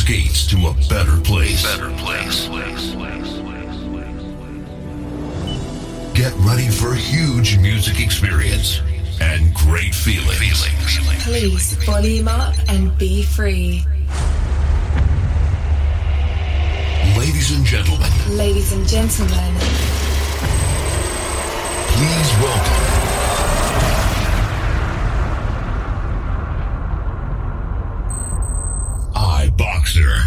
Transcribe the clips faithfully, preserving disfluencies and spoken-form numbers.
skates to a better place. Better place. Get ready for a huge music experience and great feelings. feelings. Please volume up and be free. Ladies and gentlemen. Ladies and gentlemen. Please welcome. iBoxer.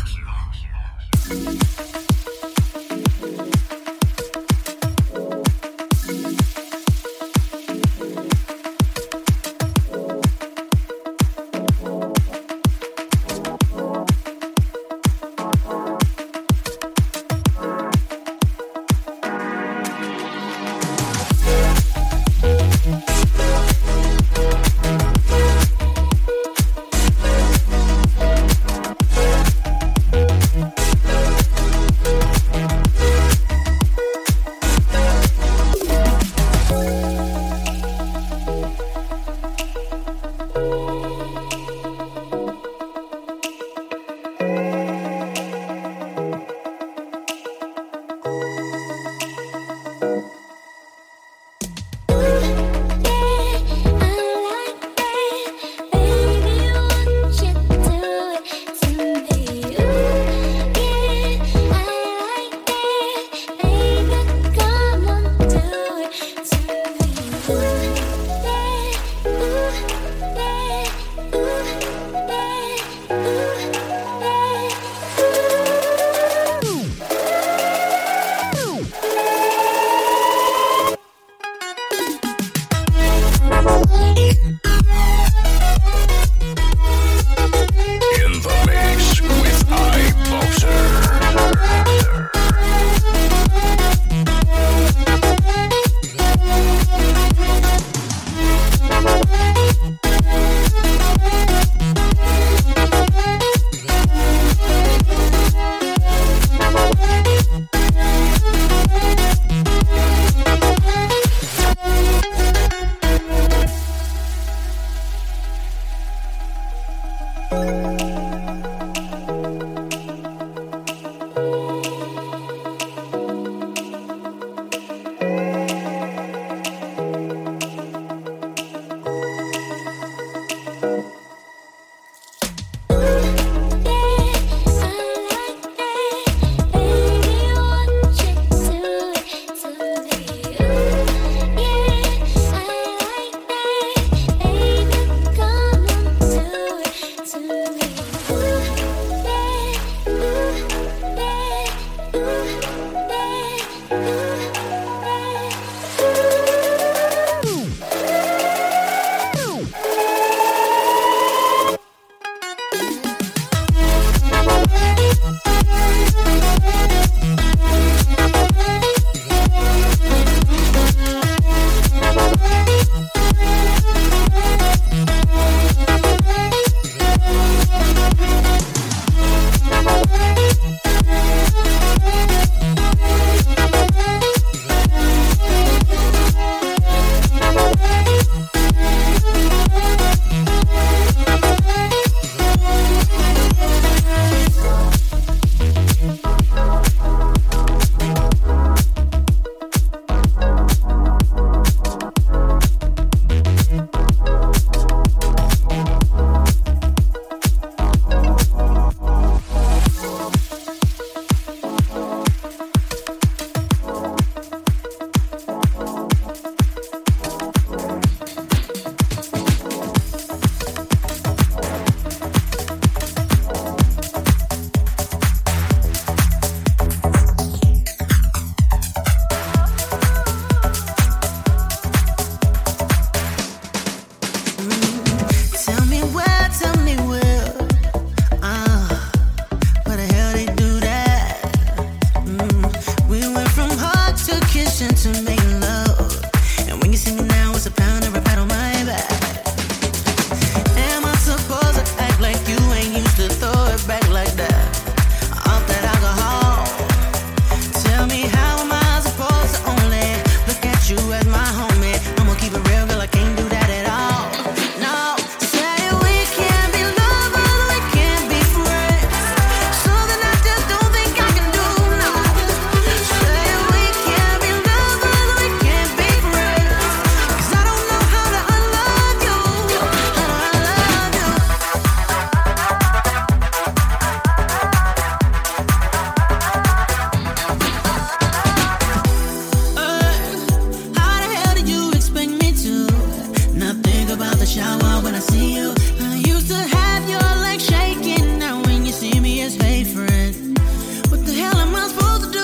stay friends. What the hell am I supposed to do?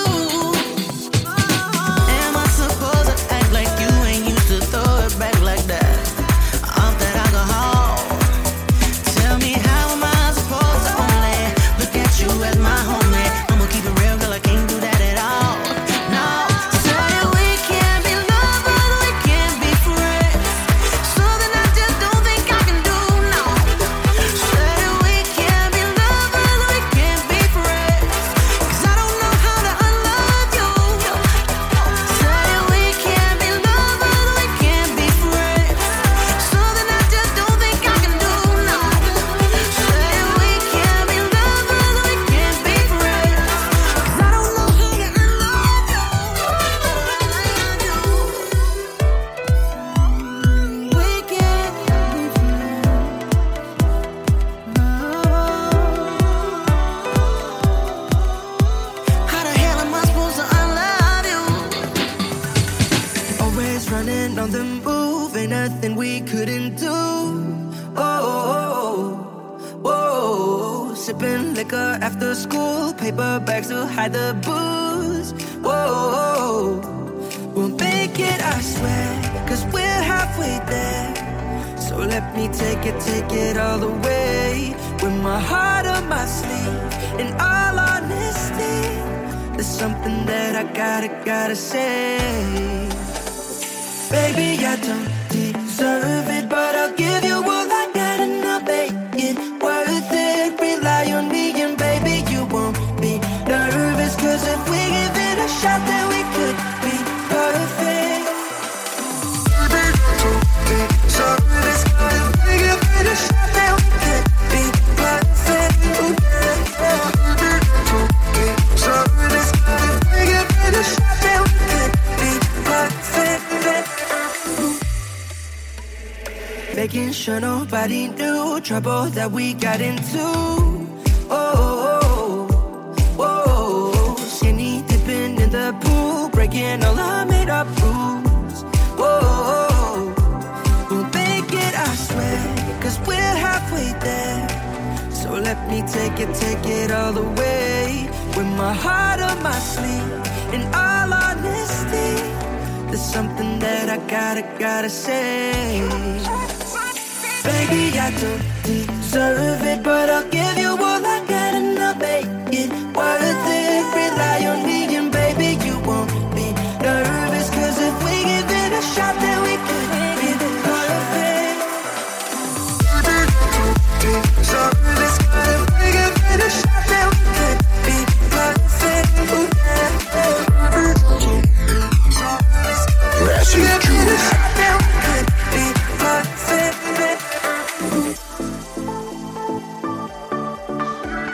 Am I supposed to act like you ain't used to throw it back like that? Off that alcohol. Tell me how am I supposed to only look at you as my homie? I'ma keep it real, girl, I can't do that at all. No, say we can't be lovers, we can't be friends. Something I just don't think I can do, no. Say we can't be lovers, we can't be friends. 'Cause I don't know how to unlove you. Say we can't be lovers, we can't be friends. Something I just don't think I can do, no. Say we can't be lovers, we can't be friends. 'Cause I don't know how to unlove you. We can't be friends. How the hell am I supposed to unlove you? Always running on the move, ain't nothing we couldn't do. Oh, oh, oh, sipping liquor after school, paper bags to hide the booze. Whoa, we'll make it, I swear, 'cause we're halfway there. So let me take it, take it all the way. With my heart on my sleeve, in all honesty, there's something that I gotta, gotta say. Baby, I don't deserve it, but I'll give you all I got and I'll make it worth it. Rely on me and baby, you won't be nervous. 'Cause if we give it a shot, then we could be perfect. Service, if we give it a shot, then we could be perfect. Service, if we give it a shot, then we could be perfect. Making sure nobody knew trouble that we got into. Oh, oh, oh, oh. Skinny dipping in the pool, breaking all our made up rules. Whoa, we'll make it, I swear, 'cause we're halfway there. So let me take it, take it all the way. With my heart on my sleeve, in all honesty, there's something that I gotta, gotta say. Baby, I don't deserve it, but I'll give you all I got and I'll make it worth it. Rely on me and baby, you won't be nervous. 'Cause if we give it a shot, then we could be perfect. Service, if we give it a shot, then we could be perfect. Massive Juice. Then we could be perfect.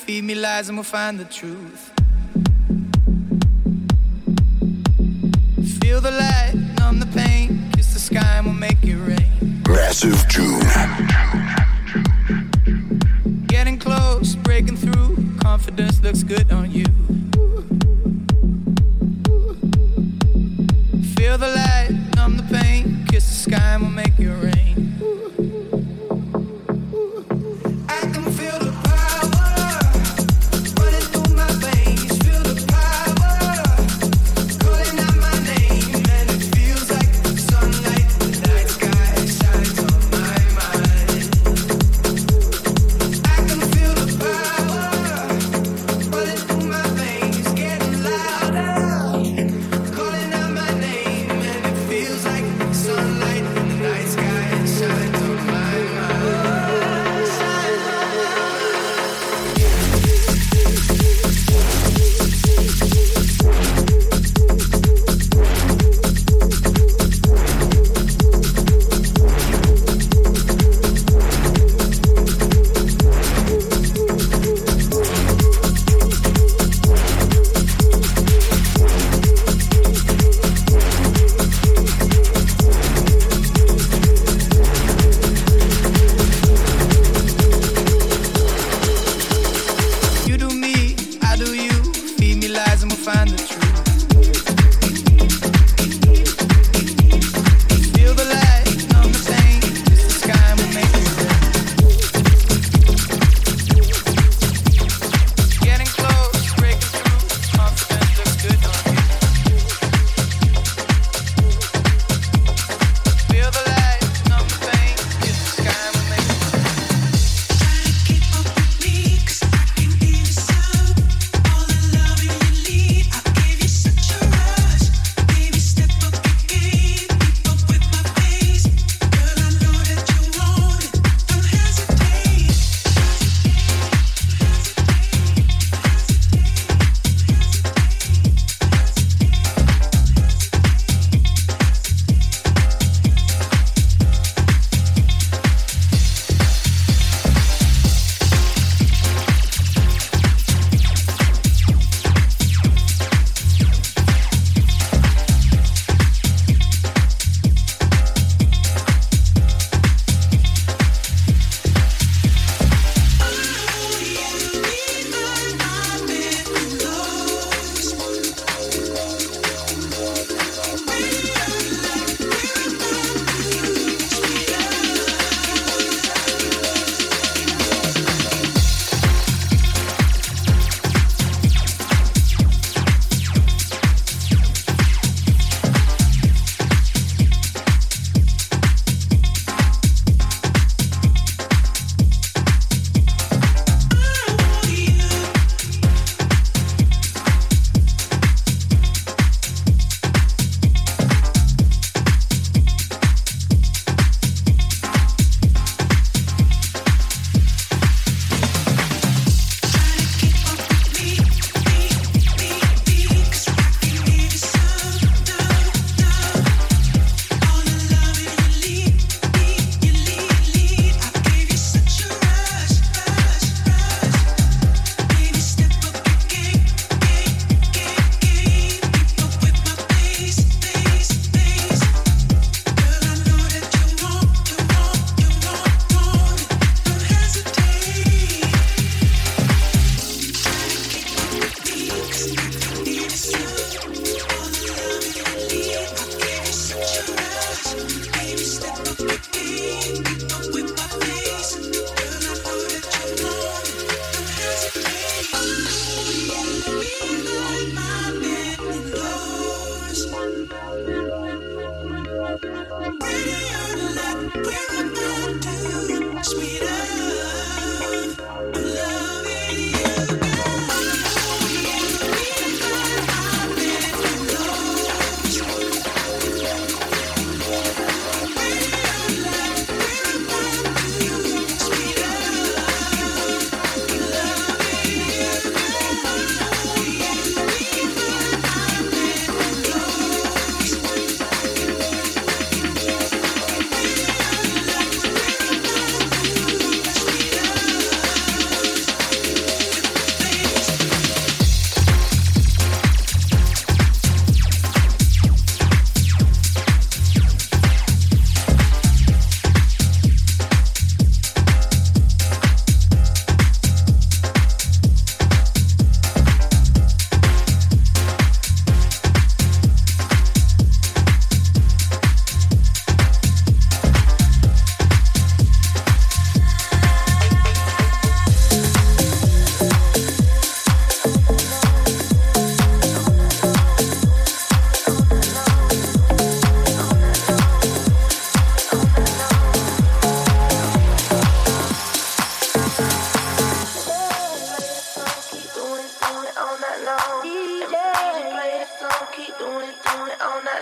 feed me lies and we'll find the truth. Feel the light, numb the pain, kiss the sky and we'll make it rain. Massive June. Getting close, breaking through, confidence looks good on you. Feel the light, numb the pain, kiss the sky and we'll make it rain.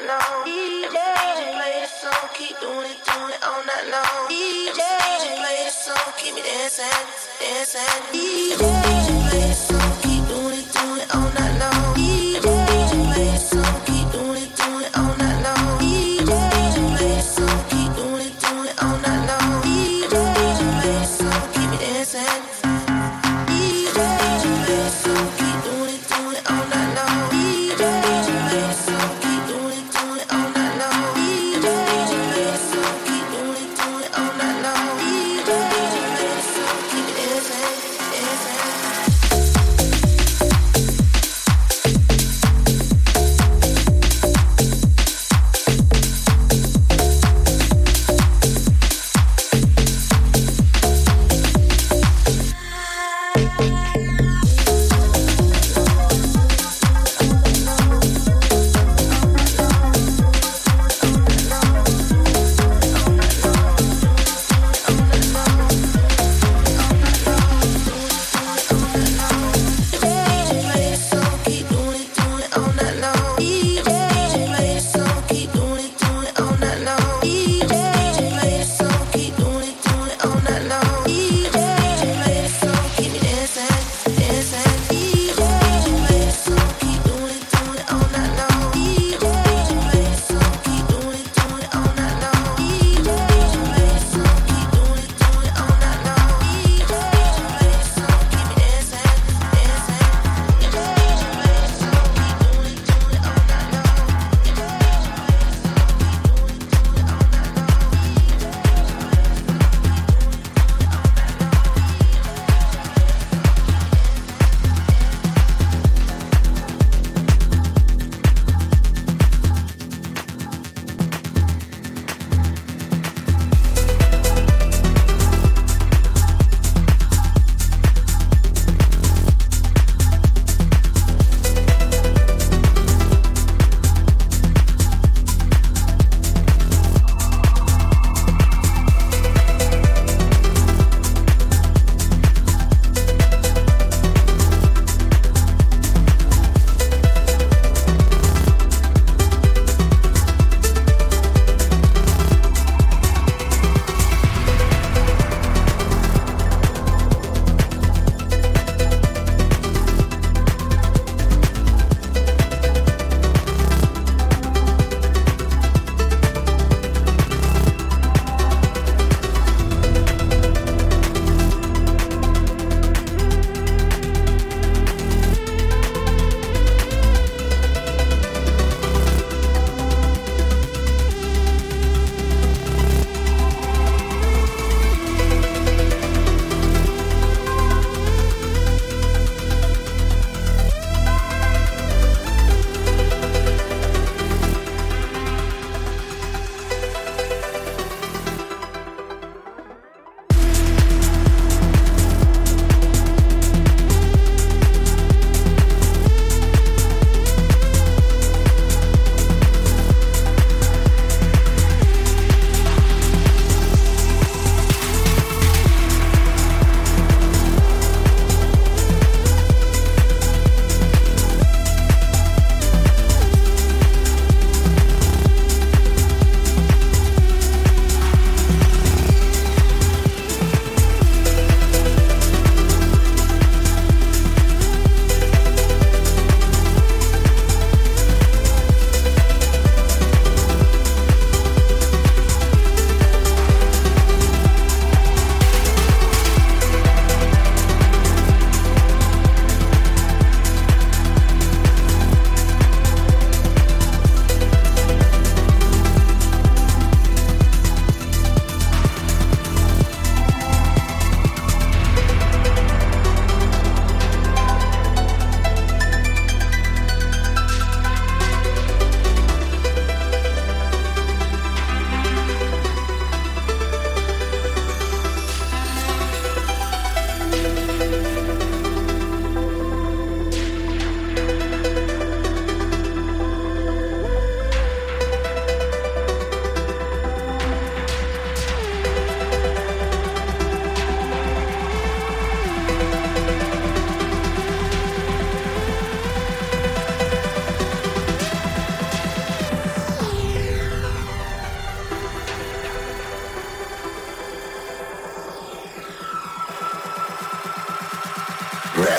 long. D J play the song, keep doing it, doing it all night long. D J play the song, keep me dancing, dancing. D J play the song, keep doing it, doing it all night long. D J play the song, keep doing it, doing it all night long. D J play the song, keep doing it, doing it all night long. D J play the song, keep me dancing. D J play the song, keep doing it, doing it all night long. D J play the song, keep doing it, doing it all night long. D J play the song, keep doing it, doing it all night long. D J play the song, keep me dancing, dancing.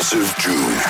Progressive June.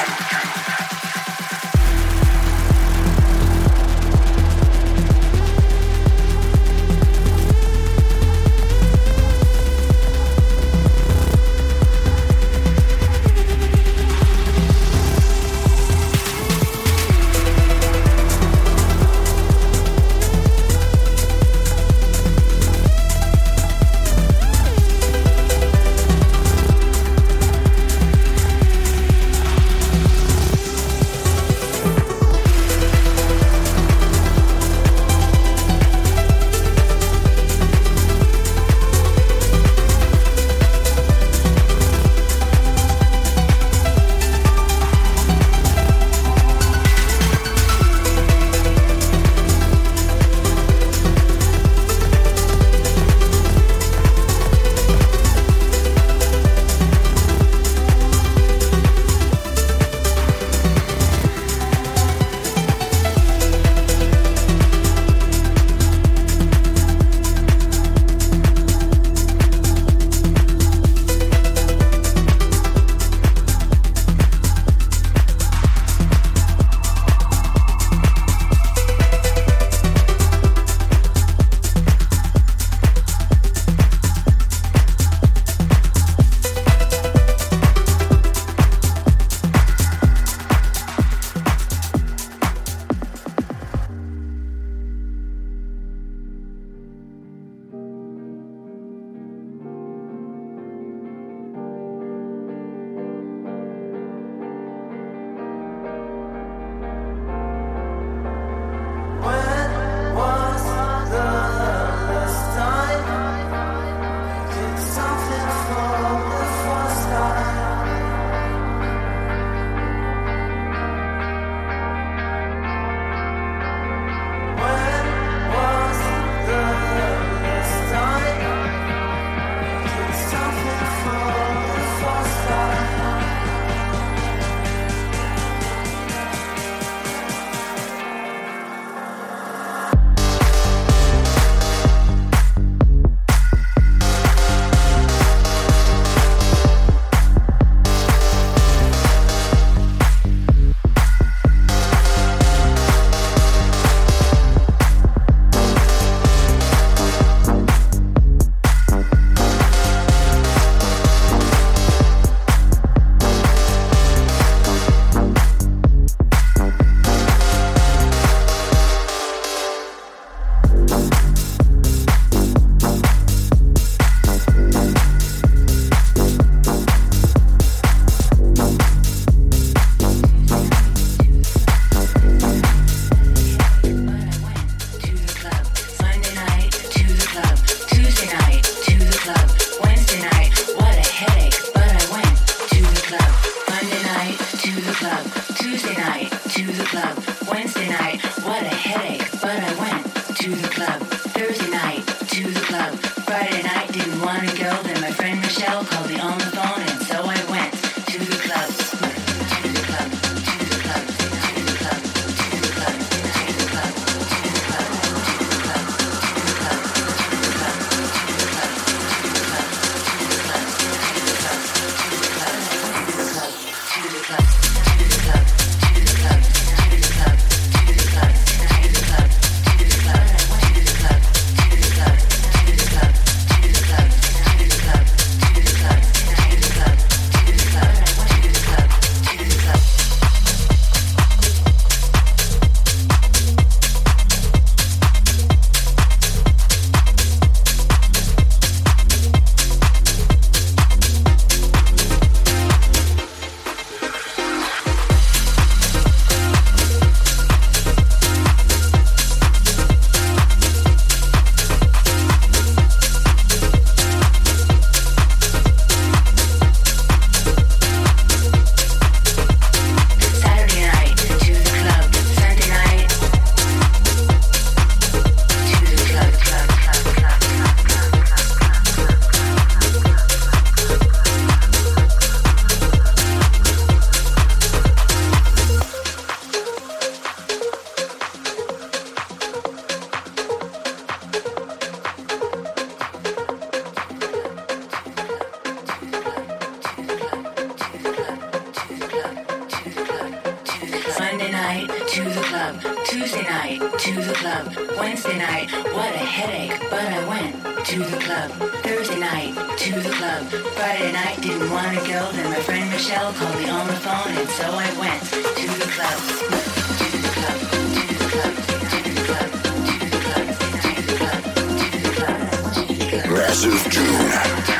night, to the club. Tuesday night, to the club. Wednesday night, what a headache, but I went to the club. Thursday night, to the club. Friday night, didn't want to go, then my friend Michelle called me on the phone, and so I went to the club. To the club, to the club, to the club, to the club, to the club, to the club, to the club. Massive June.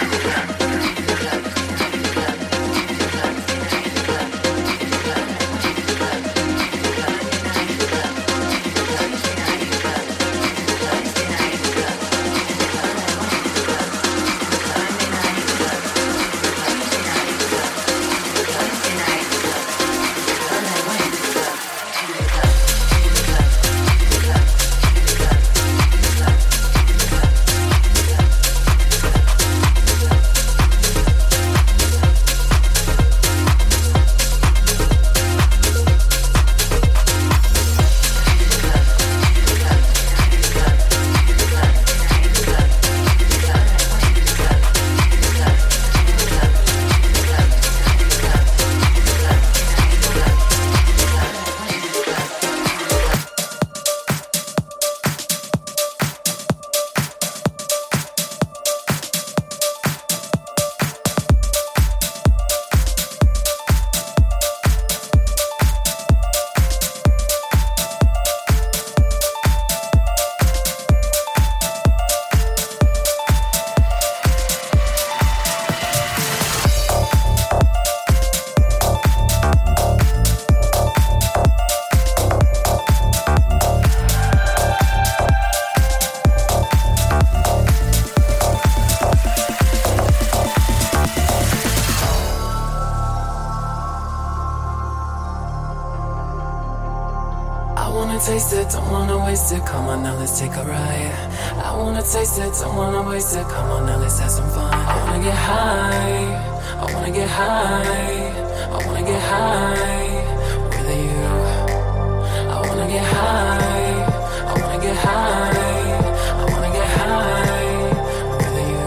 Taste it, don't wanna waste it. Come on now, let's take a ride. I wanna taste it, don't wanna waste it. Come on now, let's have some fun. I wanna get high, I wanna get high, I wanna get high with you. I wanna get high, I wanna get high, I wanna get high with you.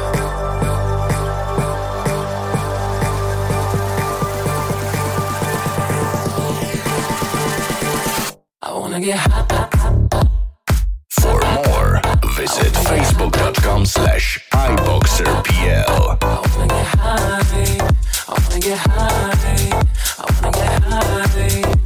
I wanna get high. For more, visit facebook.com slash iBoxerPL. I wanna get high, I wanna get high, I wanna get high with you.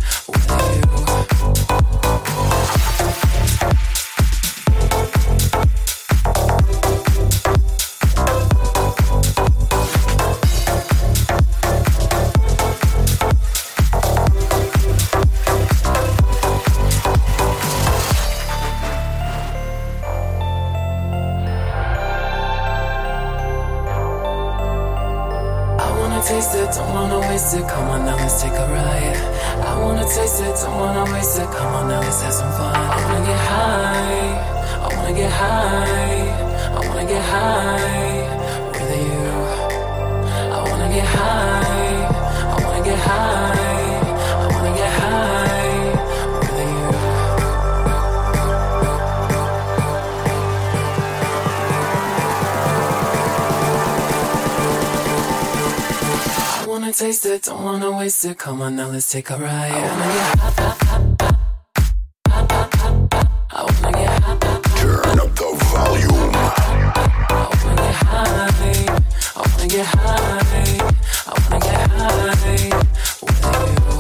Taste it, don't wanna waste it. Come on now, let's take a ride. I wanna taste it, don't wanna waste it. Come on now, let's have some fun. I wanna get high, I wanna get high, I wanna get high with you. I wanna get high, I wanna get high, I wanna get high with you. I wanna taste it, don't wanna waste it. Come on now, let's take a ride. I wanna get high, I wanna get high. Turn up the volume. I wanna get high, I wanna get high, I wanna get high with you.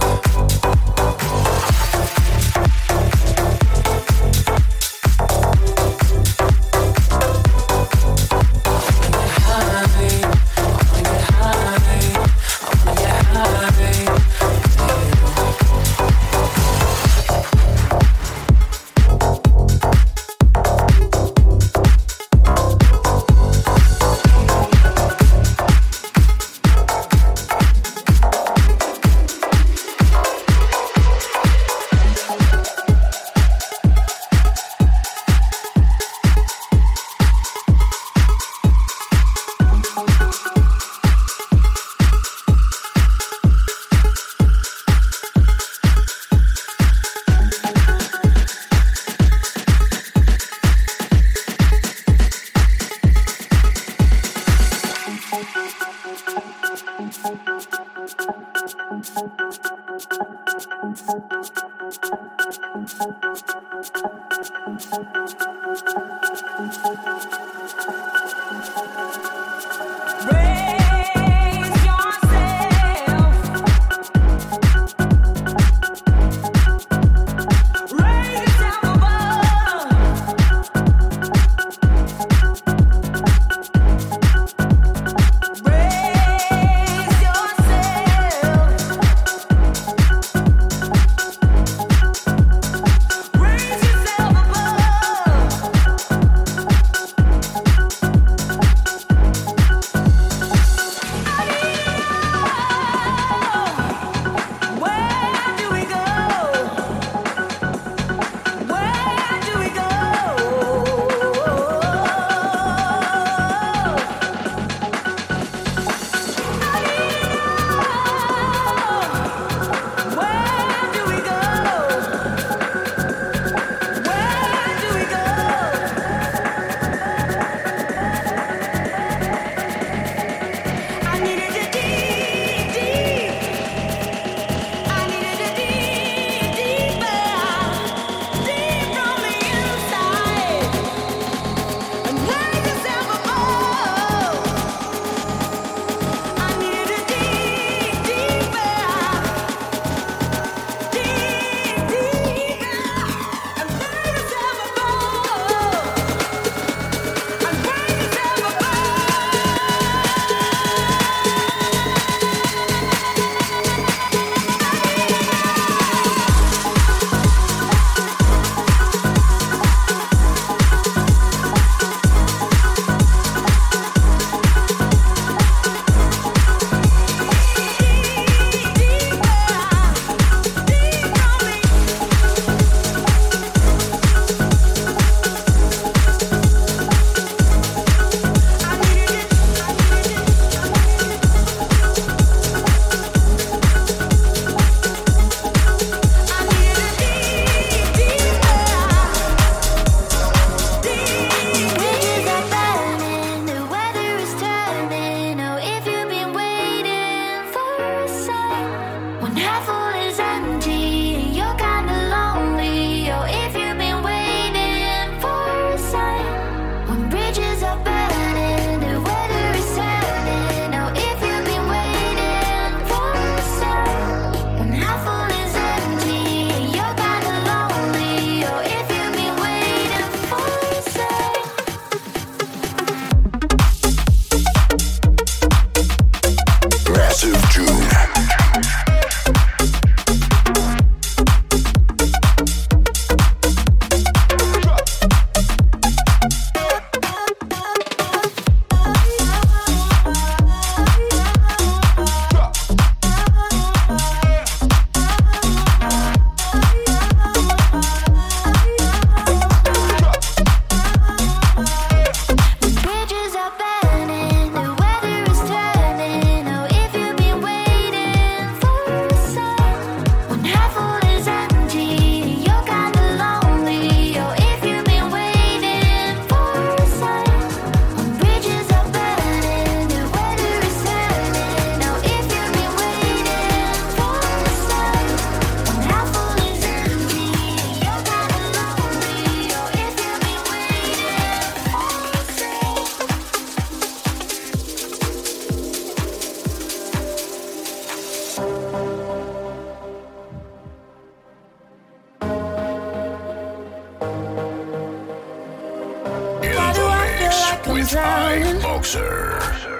Ike Boxer.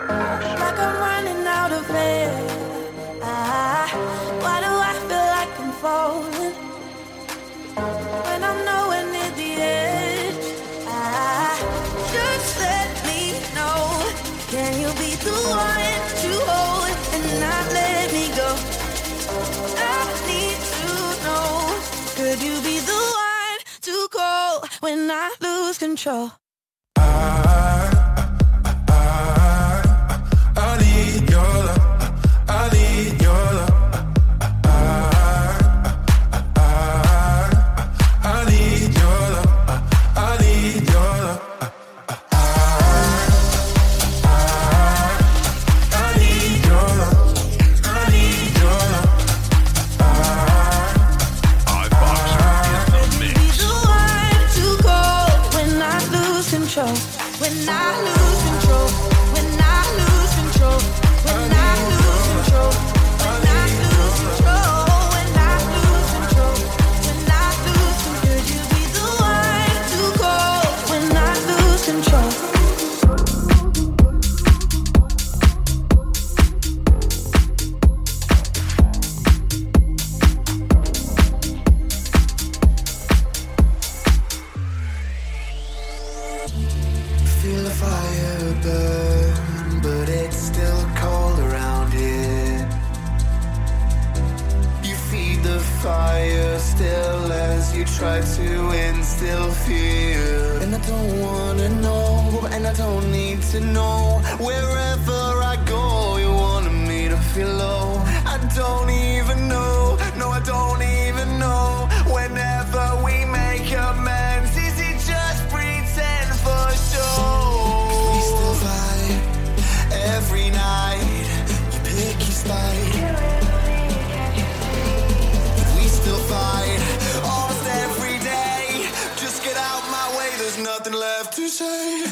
Like I'm running out of air. Ah, why do I feel like I'm falling when I'm nowhere near the edge? Ah, just let me know. Can you be the one to hold and not let me go? I need to know. Could you be the one to call when I lose control? fire still as you try to instill fear. And I don't wanna know, and I don't need to know. Wherever I go, you wanted me to feel low. I don't even know, no I don't even know. Whenever we make amends, is it just pretend for sure? We still fight every night, you pick your spite. We still fight almost every day. Just get out my way, there's nothing left to say.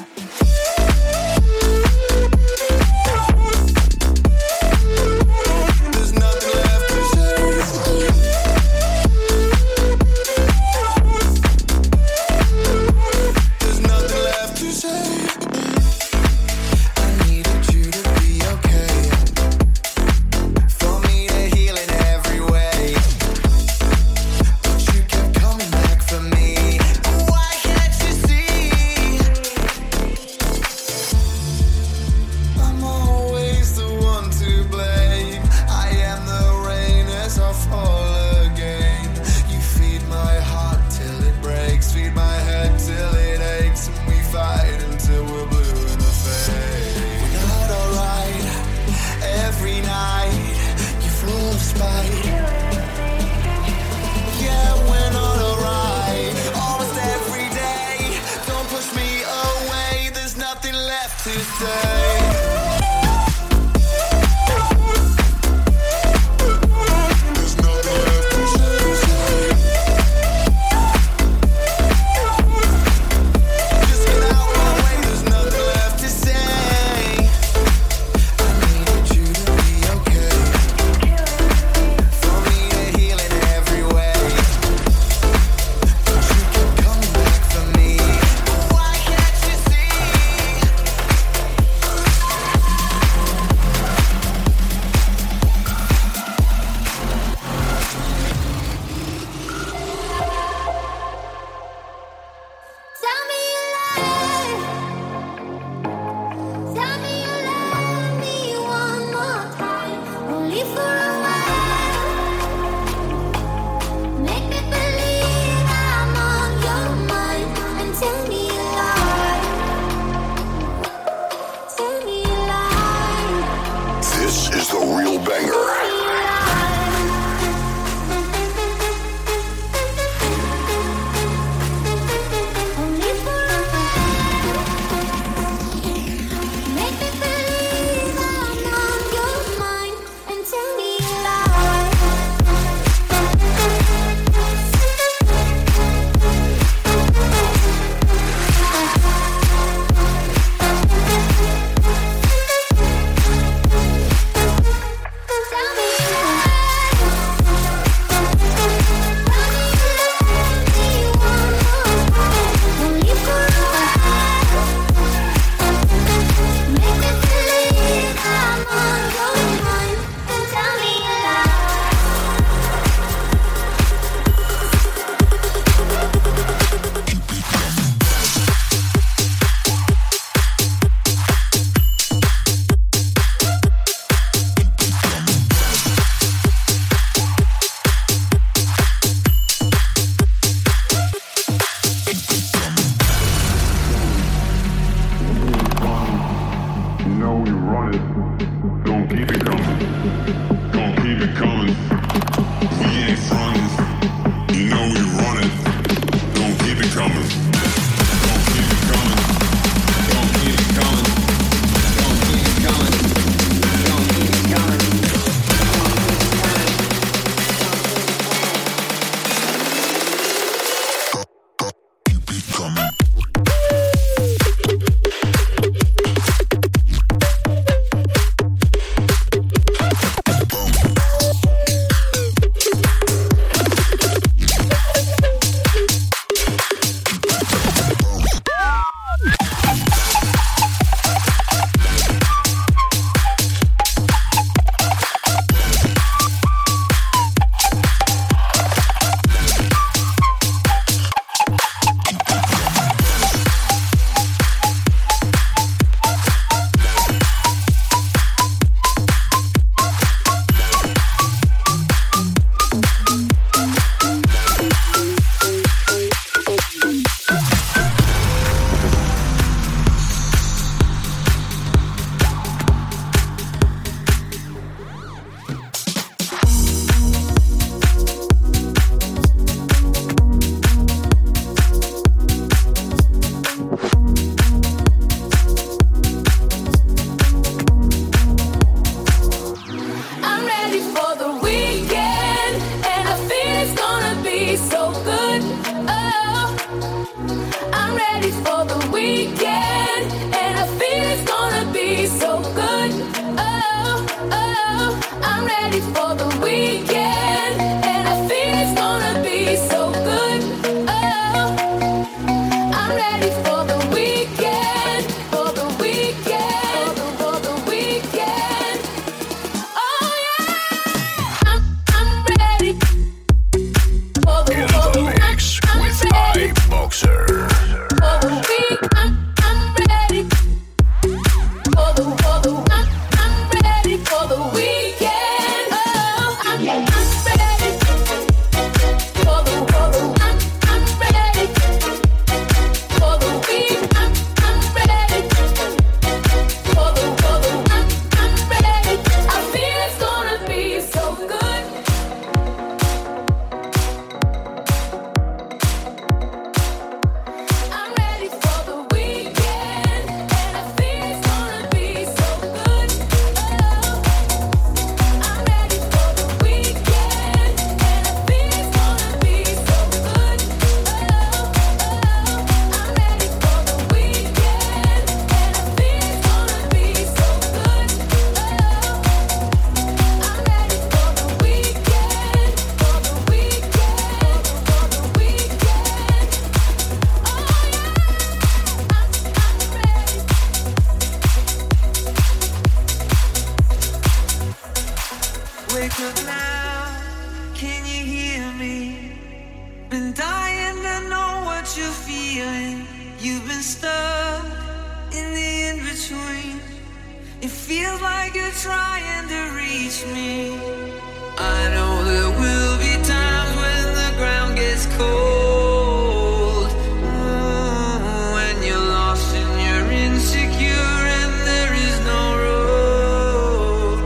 stuck in the in-between. It feels like you're trying to reach me. I know there will be times when the ground gets cold, mm, when you're lost and you're insecure and there is no road,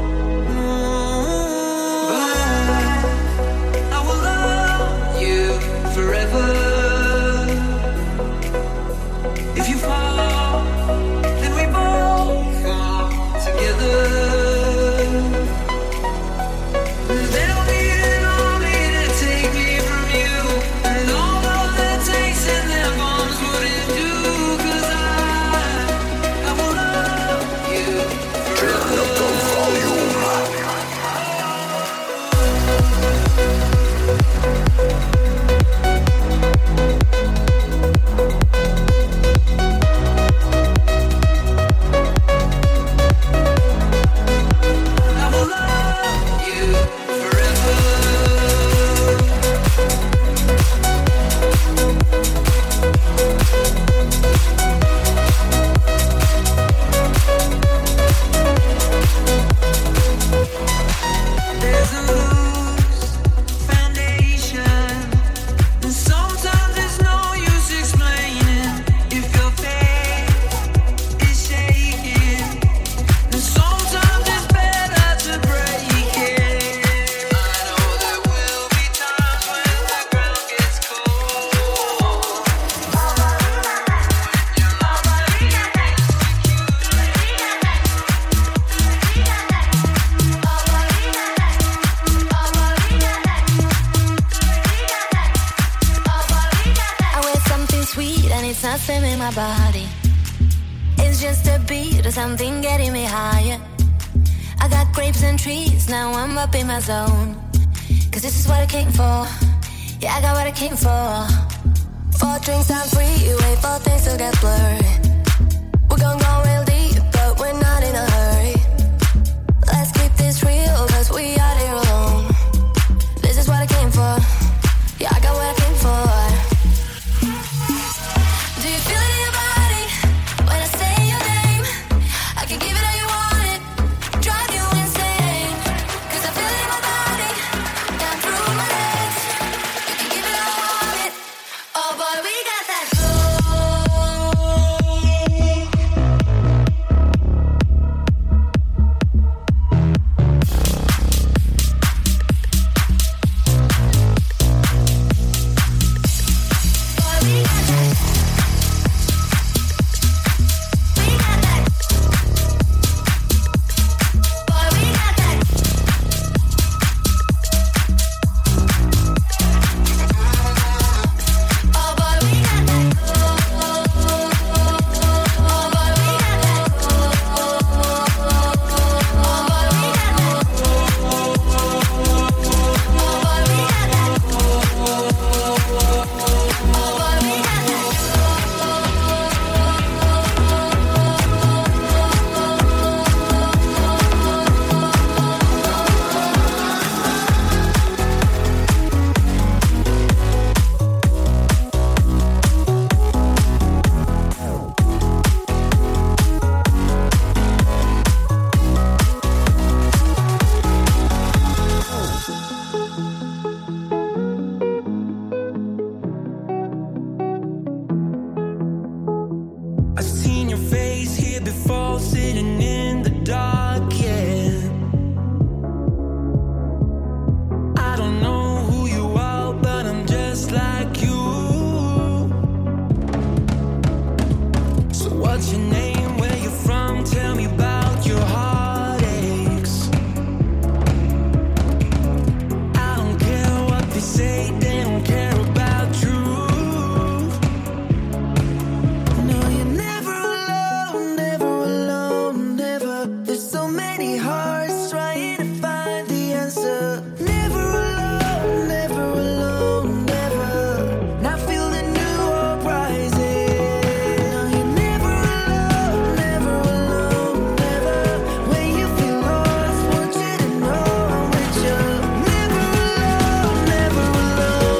mm, but I, I will love you forever. If you fall, then we both fall together. There'll be an army to take me from you, and all of the tanks and their bombs wouldn't do, 'cause I, I will love you forever. Turn up the volume. I will love you forever. There's a loose foundation, and sometimes there's no use explaining if your faith is shaking, and sometimes it's better to break it. I know there will be times when the ground gets cold, when you're lost and I wear something sweet and it's not swimming my body. It's just a beat or something getting me higher. I got grapes and trees, now I'm up in my zone. 'Cause this is what I came for. Yeah, I got what I came for. Four drinks on freeway, four things to get blurry. We're gonna go real deep, but we're not in a hurry. Let's keep this real, 'cause we are here alone. This is what I came for. Yeah, I got what I came for. Do you feel it in your body when I say your name? I can give it all you want it, drive you insane. 'Cause I feel it in my body, down through my legs. You can give it all you want it. Oh boy, we got that I've seen your face here before, sitting in the dark, yeah. I don't know who you are, but I'm just like you. So what's your name, where you from, tell me about your heartaches. I don't care what they say, they don't care about truth. No, you're never alone, never alone, never. There's so many hearts trying to find the answer. Never alone, never alone, never. Now feel the new hope rising. No, you're never alone, never alone, never. When you feel lost, want you to know I'm with you. Never alone, never alone.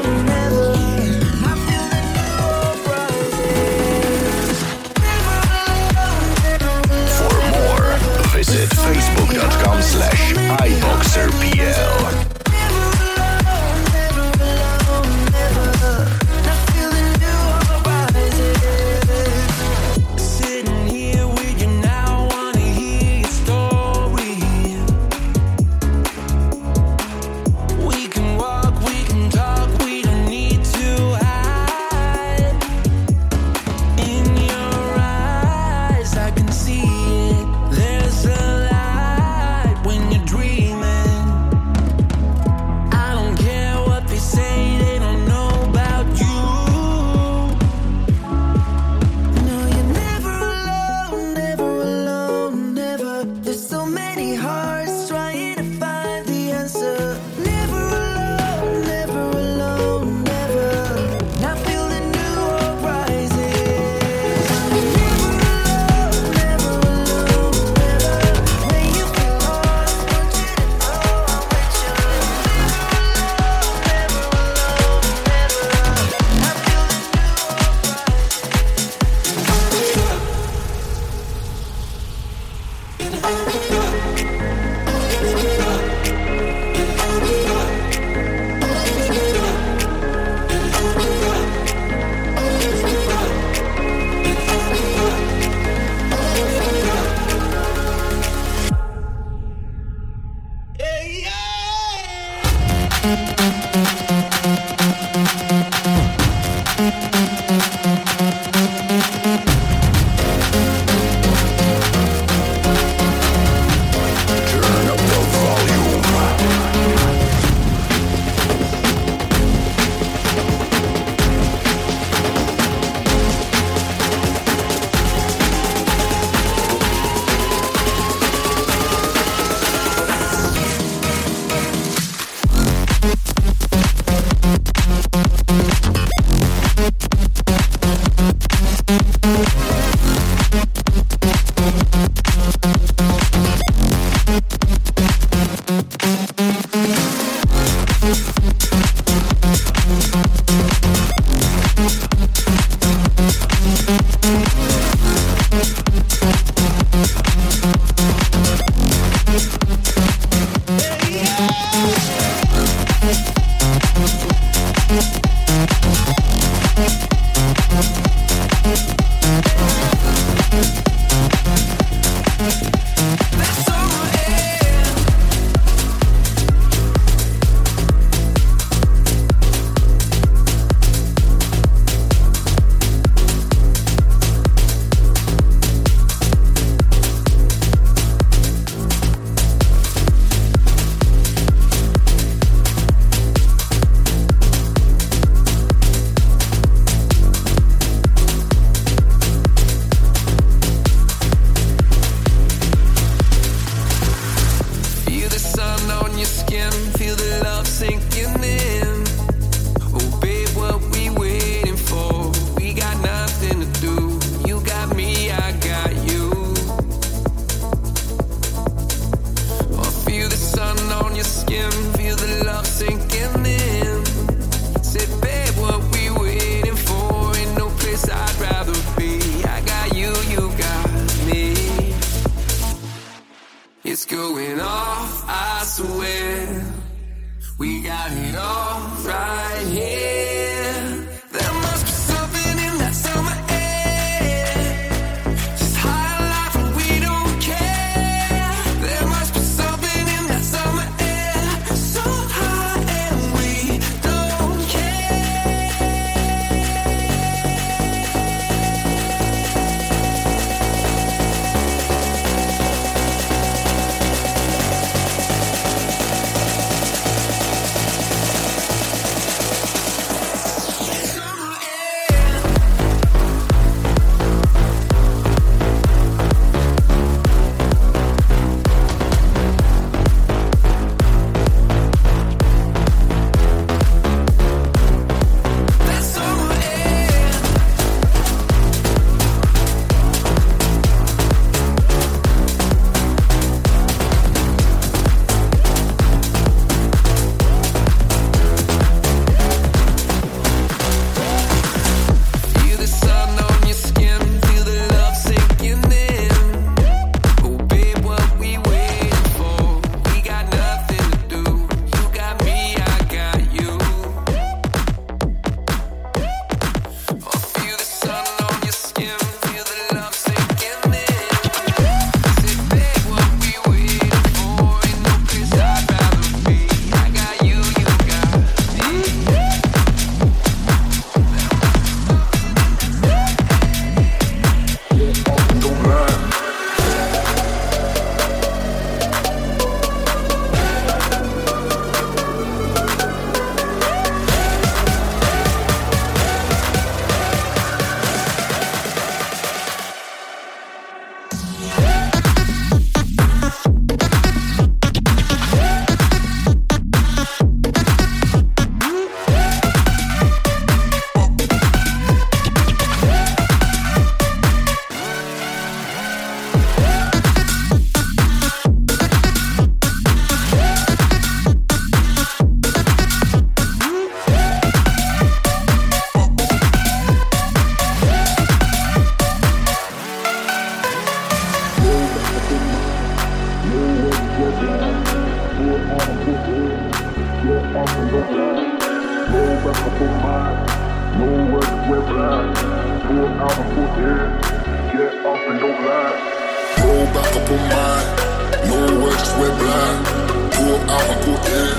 Roll back up on mine, no words, just we're blind. Pull out and put in,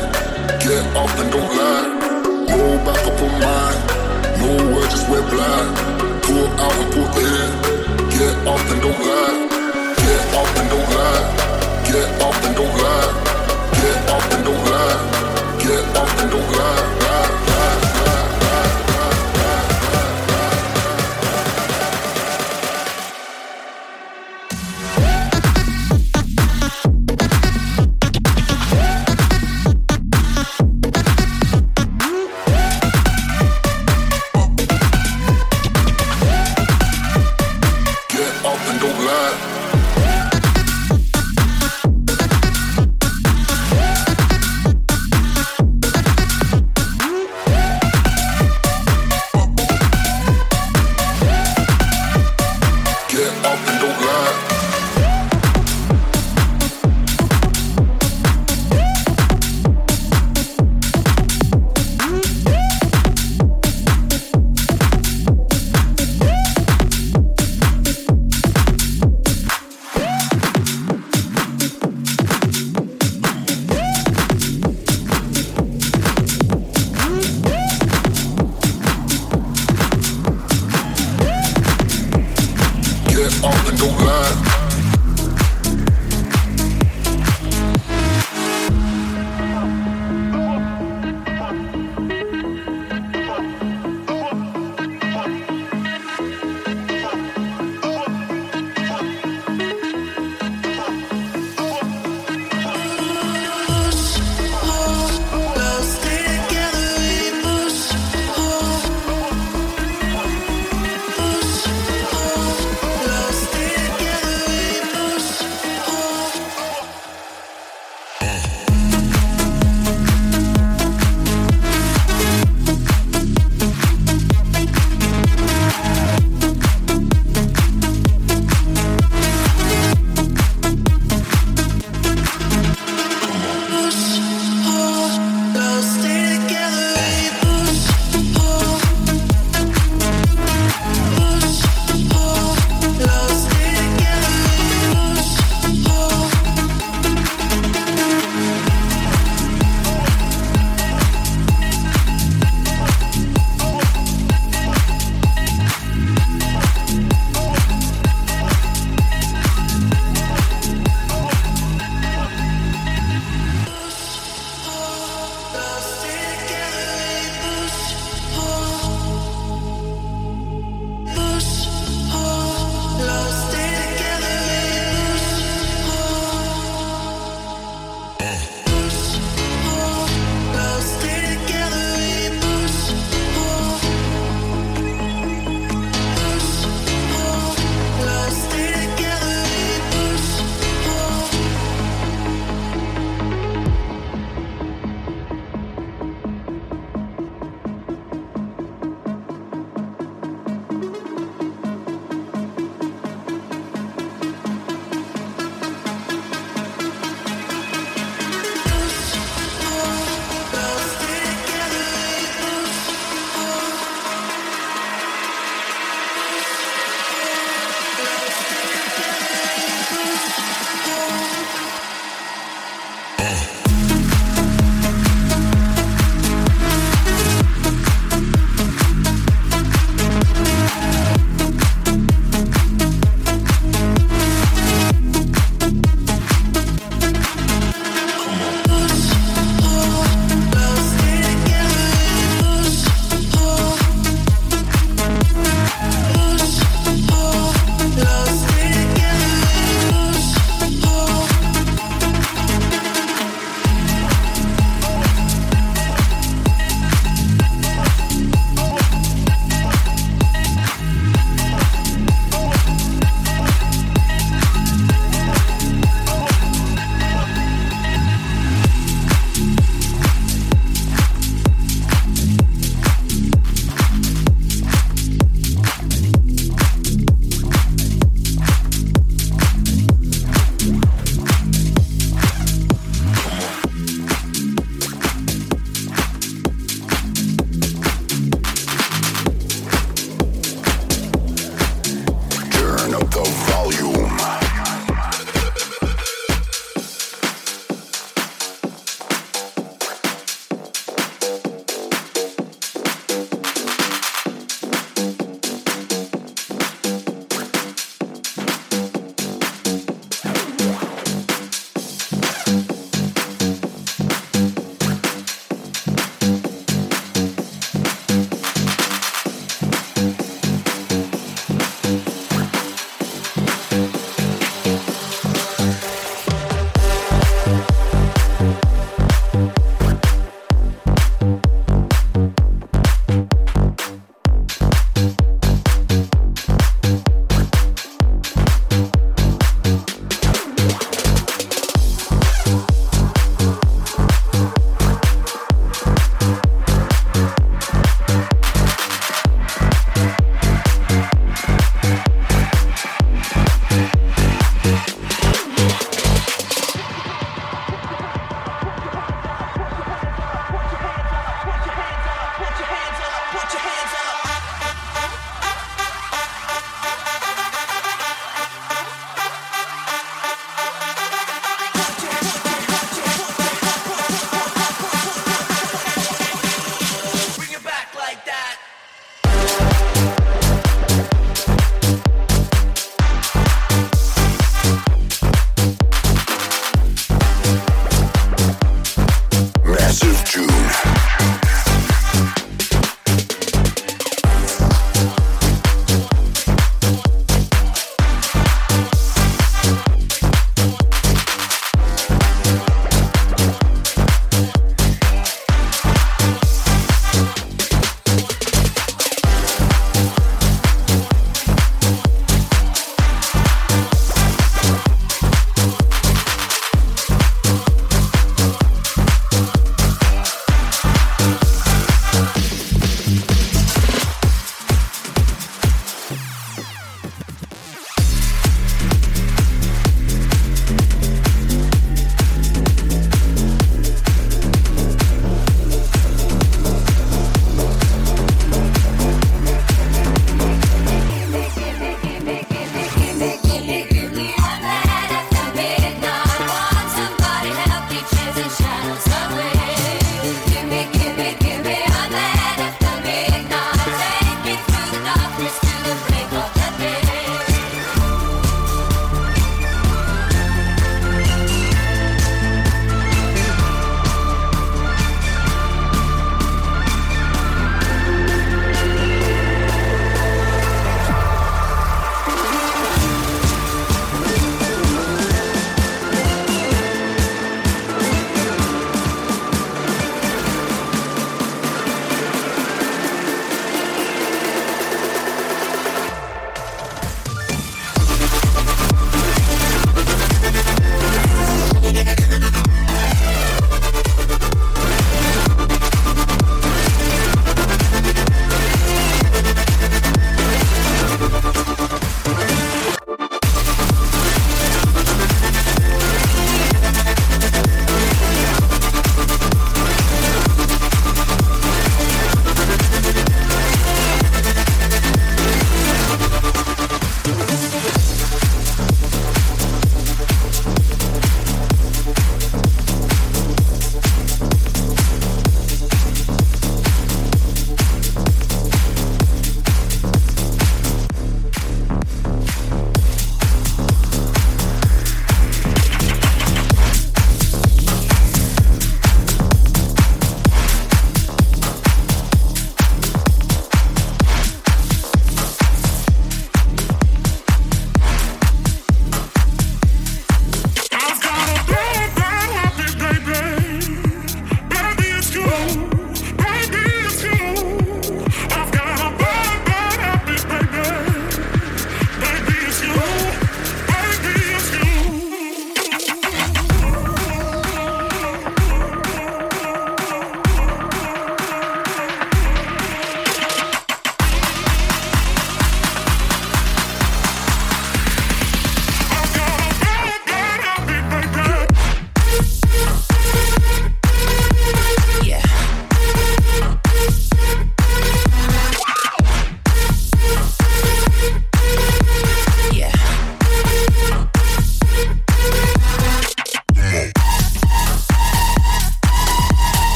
Get up and don't lie. Roll back up on mine. No words, just wear blind. Pull out and pull in. Get up and don't lie. Get up and don't lie. Get up and don't lie. Get up and don't lie. Get up and don't lie. Lie, lie, lie, lie, lie, lie, Together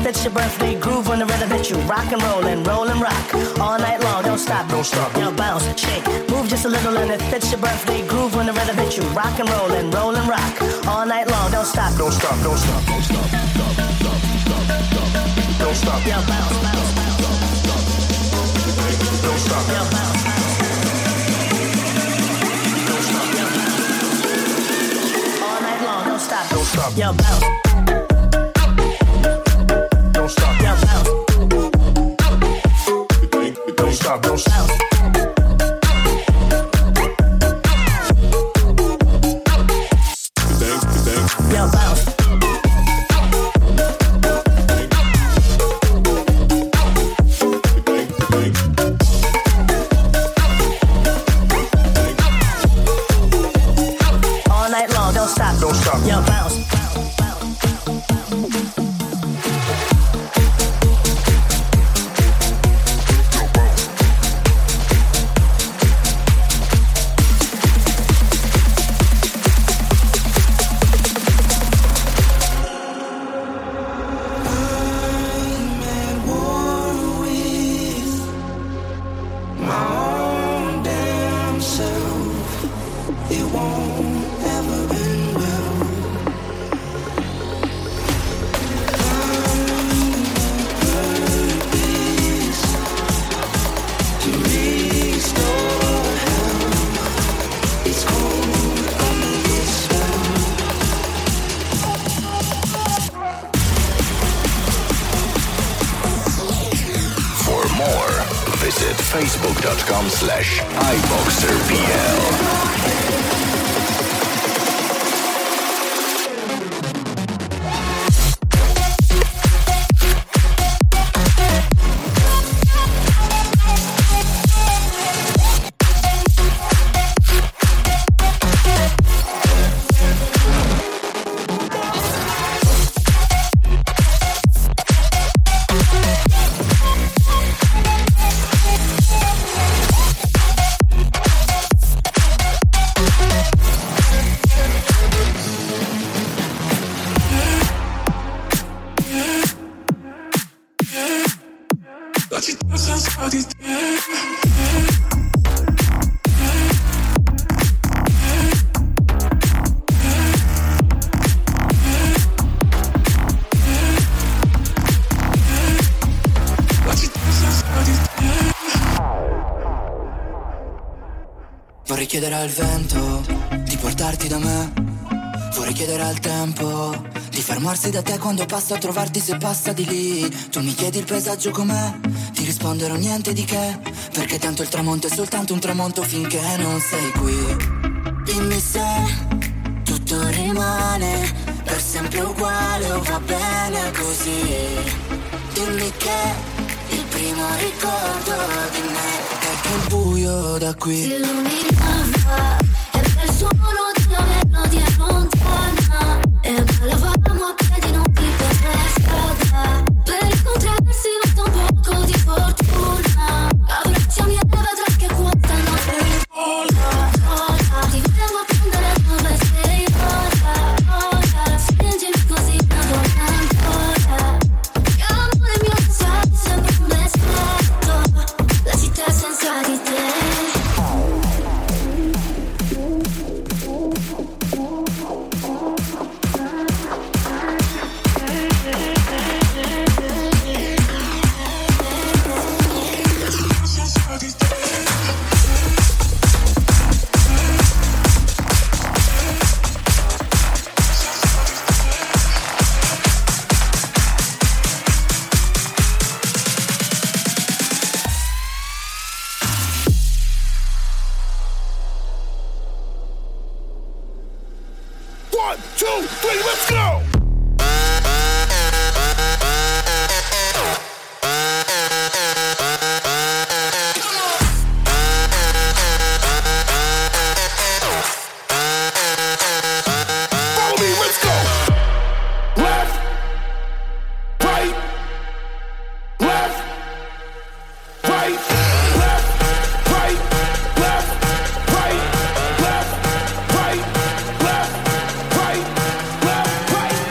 fits your birthday groove when the rhythm hits you. Rock and roll and roll and rock all night long. Don't stop, don't stop. Yo, bounce, shake, move just a little and it fits your birthday groove when the rhythm hits you. Rock and roll and roll and rock all night long. Don't stop, don't stop, don't stop, don't stop, stop, stop, stop, stop. Don't stop. Yo, bounce, bounce, bounce, stop, stop. Don't stop. Yo, bounce, bounce. Don't stop. Yo, bounce. All night long, don't stop. Don't stop. Yo, bounce. Don't stop. Yo, bounce. Don't stop. Don't stop. Yo, bounce. All night long, don't stop. Don't stop. Yo, bounce. Facebook.com slash iBoxerPL. Vorrei chiedere al vento di portarti da me. Vorrei chiedere al tempo di fermarsi da te quando passo a trovarti, se passa di lì. Tu mi chiedi il paesaggio com'è, ti risponderò niente di che, perché tanto il tramonto è soltanto un tramonto finché non sei qui. Dimmi se tutto rimane per sempre uguale o va bene così. Dimmi che il primo ricordo di me è che il buio da qui si illuminava e per suono della melodia lontana e ballavamo a piedi non più per strada. Per incontrarsi basta un poco di fortuna. Abbracciami e vedrai che quanta notte ora, ora ti vengo a prendere dove sei ora, ora spingimi così tanto ancora. Che amore mio sai sempre un messaggio, la città senza di te. One, two, three, let's go! Follow me, let's go! Left, right, left, right, left, right, left, right, left, right, left, right, left, right.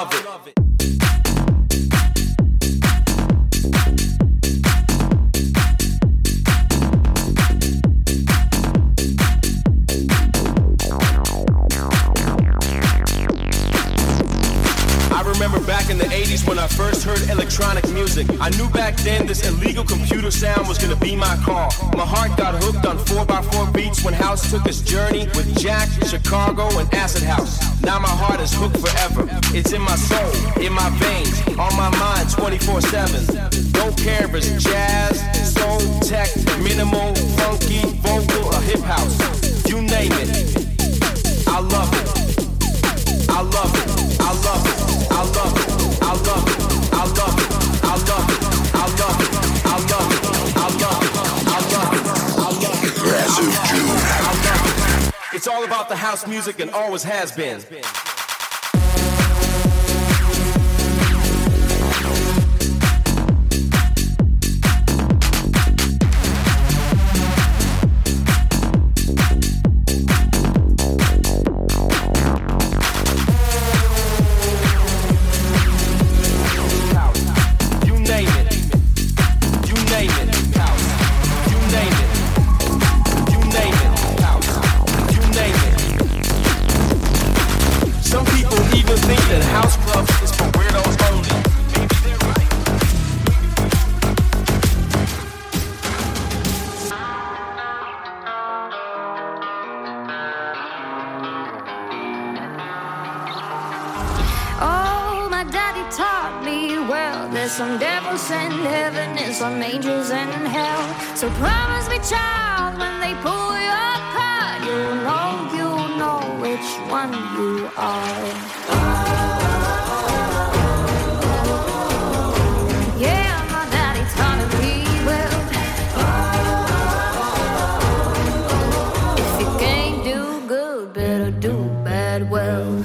love it. I remember back in the eighties when I first heard electronic music. I knew back then this illegal computer sound was gonna be my call. My heart got hooked on four by four beats when House took its journey with Jack, Chicago, and Acid House. Now my heart is hooked forever. It's in my soul, in my veins, on my mind twenty-four seven. Don't care if it's jazz, soul, tech, minimal, funky, vocal, or hip house. You name it. I love it. I love it. I love it. I love it. I love it. I love it. I love it. I love it. I love it. I love it. I love it. I love it. Massive June. I love it. It's all about the house music and always has been. Some devils in heaven and some angels in hell. So promise me, child, when they pull your card, you'll know, you'll know which one you are. Yeah, my daddy taught me well. If you can't do good, better do bad well.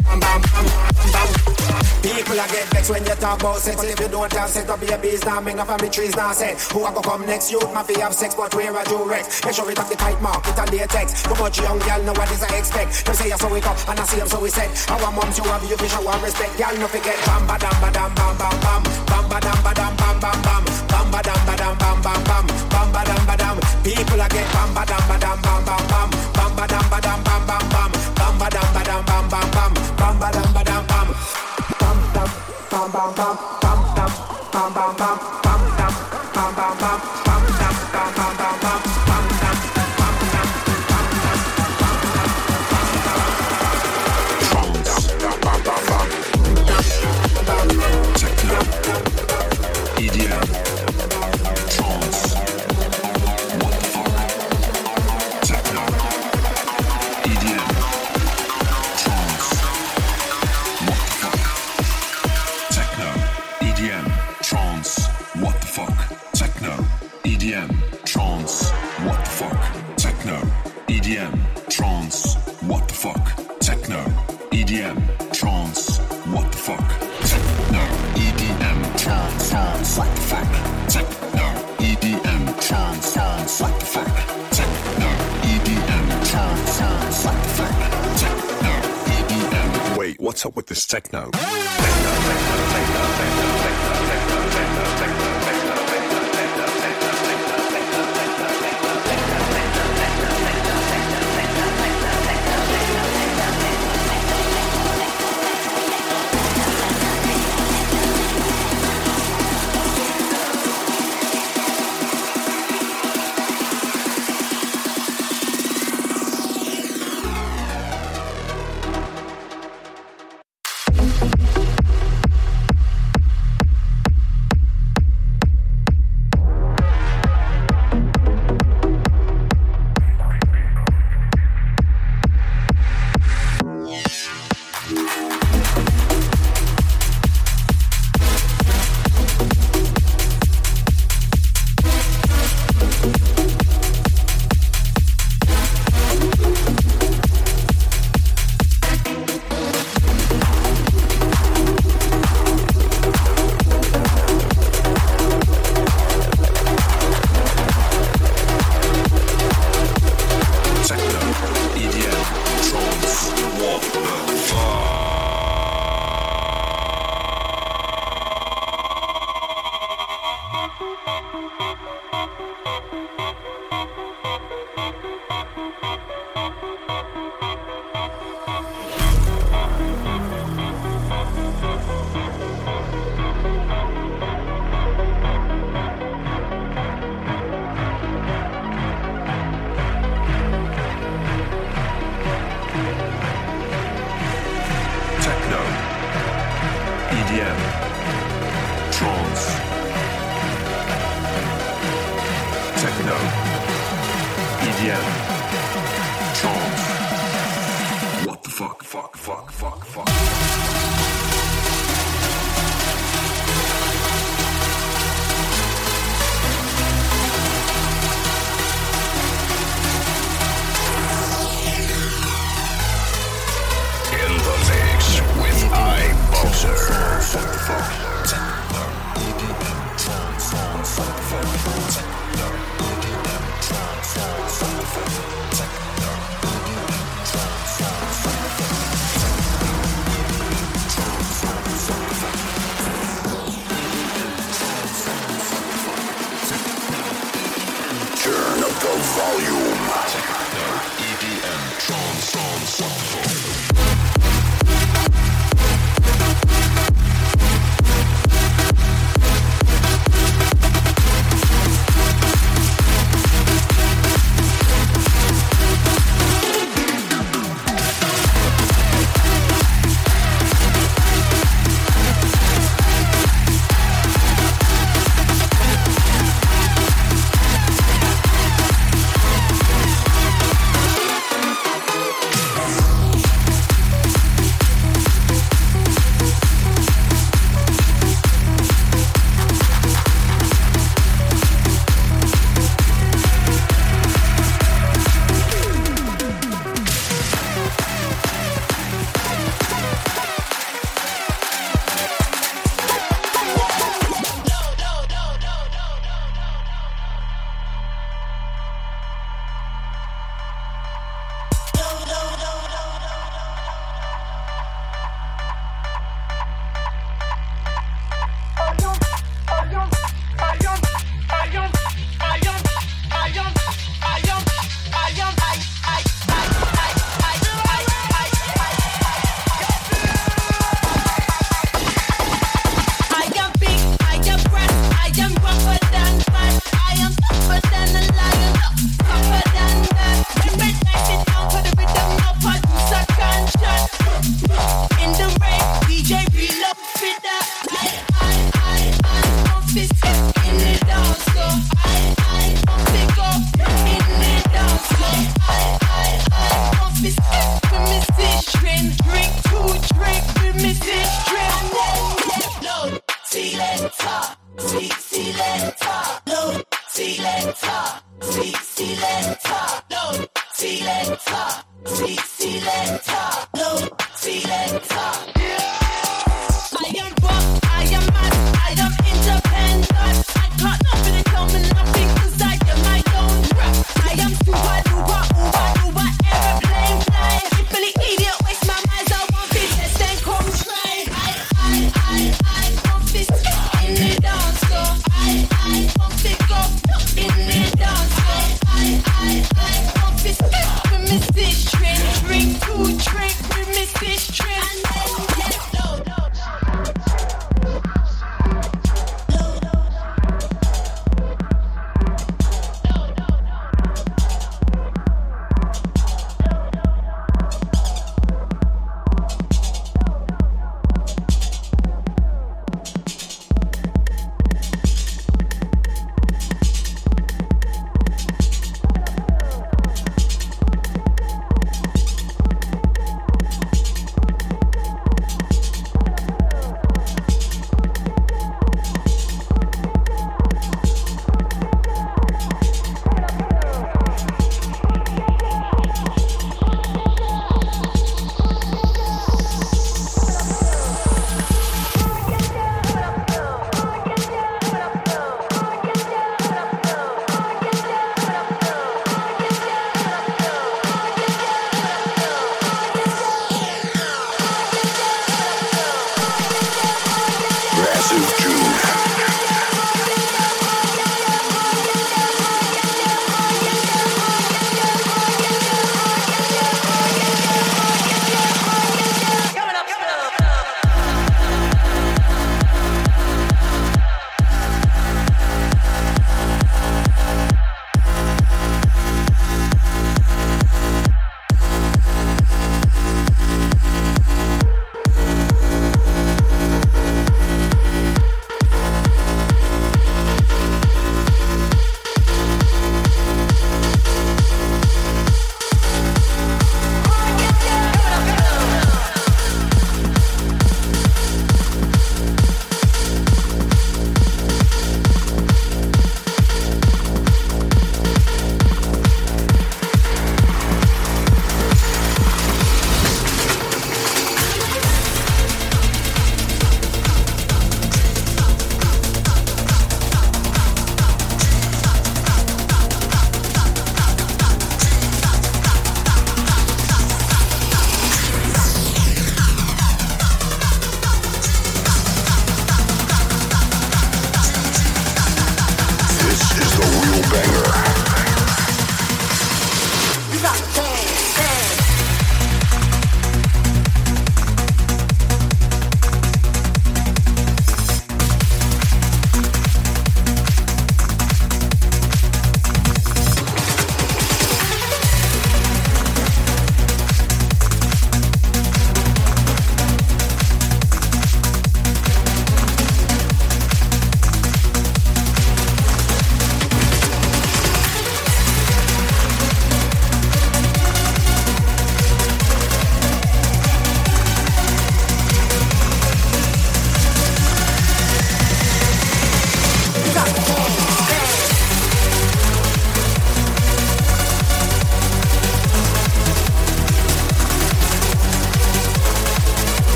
bam bam bam bam. People a get vexed when you talk about sex, but if you don't have sex, no babies, nah make no family trees, nah set. Who a go come next? Youth ma fi have sex, but where a do Rex? Make sure it have the tight mark, it a latex. Too much young girl know what is I expect. Them say you so we up, and I see them so we said. Our moms you have you fi show and respect. Girl no forget bam ba dam ba dam bam bam bam, bam ba dam ba dam bam bam bam, bam ba dam ba dam bam bam bam, bam ba dam ba dam. People a get bam ba dam ba dam bam bam bam, bam ba dam ba dam bam bam bam, bam ba dam ba dam bam bam bam, bam ba dam ba dam bam. Bam bam bam bam bam bam bam bam bam bam bam bam bam bam bam bam bam bam bam. E D M, trance, what the fuck, techno, E D M, trance, what the fuck, techno, E D M, trance, what the fuck, techno, E D M, trance, what the fuck, techno, E D M, trance, what the fuck, techno, E D M, trance, what the fuck, techno, E D M, trance, trance, what the fuck, techno, E D M, trance, trance, what the fuck, techno, E D M, trance, trance, what the fuck, techno, E D M. Wait, what's up with this techno? Sure.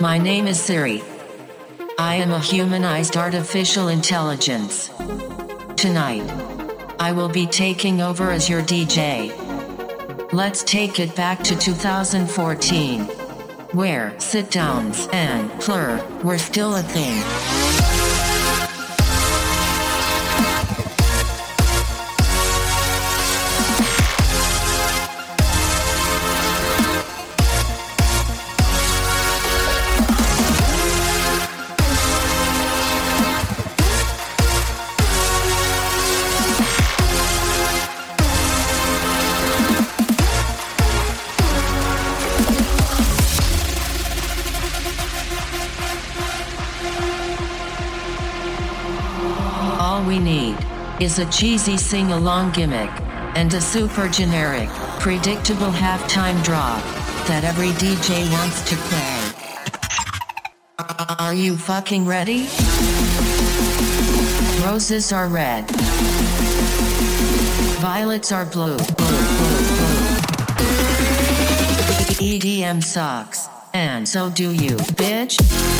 My name is Siri. I am a humanized artificial intelligence. Tonight, I will be taking over as your D J. Let's take it back to two thousand fourteen, where sit-downs and plur were still a thing. All we need is a cheesy sing-along gimmick and a super generic, predictable halftime drop that every D J wants to play. Are you fucking ready? Roses are red. Violets are blue. Blue, blue, blue. E D M sucks. And so do you, bitch.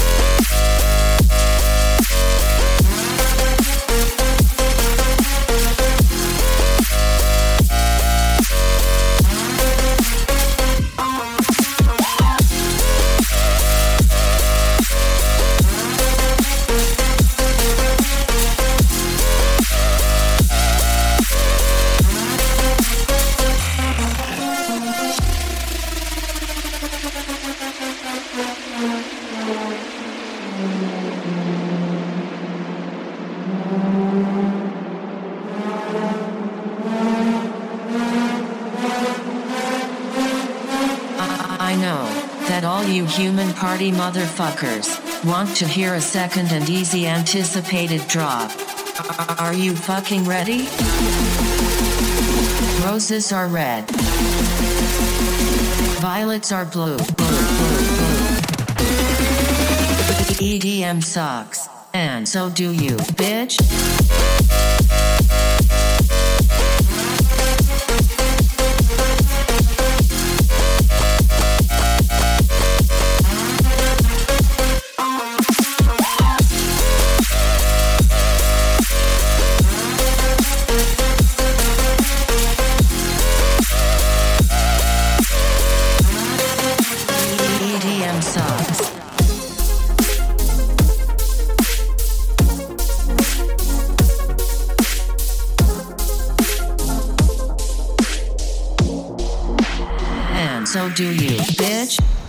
I know that all you human party motherfuckers want to hear a second and easy anticipated drop. Are you fucking ready? Roses are red. Violets are blue. Blue, blue, blue. E D M sucks. And so do you, bitch. E D M sucks. And so do you, bitch.